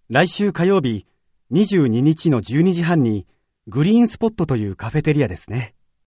来週火曜日、22日の12時半に、グリーンスポットというカフェテリアですね。